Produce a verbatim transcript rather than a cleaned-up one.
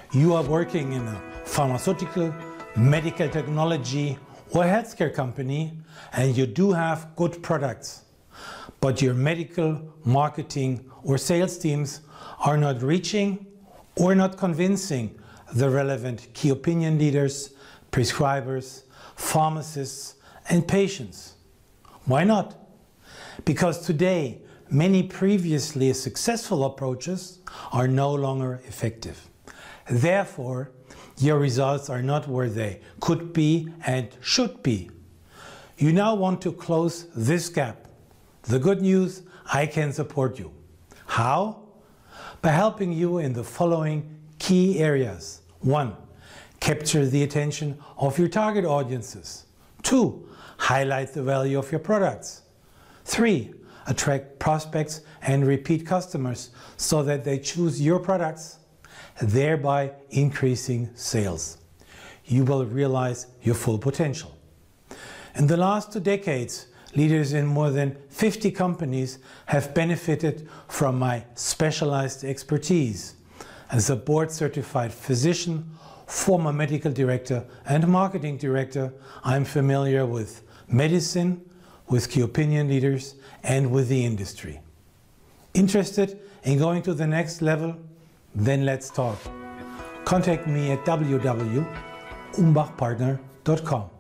You are working in a pharmaceutical, medical technology or healthcare company and you do have good products, but your medical, marketing or sales teams are not reaching or not convincing the relevant key opinion leaders, prescribers, pharmacists and patients. Why not? Because today many previously successful approaches are no longer effective. Therefore, your results are not where they could be and should be. You now want to close this gap. The good news, I can support you. How? By helping you in the following key areas. One, capture the attention of your target audiences. Two, highlight the value of your products. Three, attract prospects and repeat customers so that they choose your products, thereby increasing sales. You will realize your full potential. In the last two decades, leaders in more than fifty companies have benefited from my specialized expertise. As a board-certified physician, former medical director and marketing director, I'm familiar with medicine, with key opinion leaders and with the industry. Interested in going to the next level? Then let's talk. Contact me at w w w dot umbach partner dot com.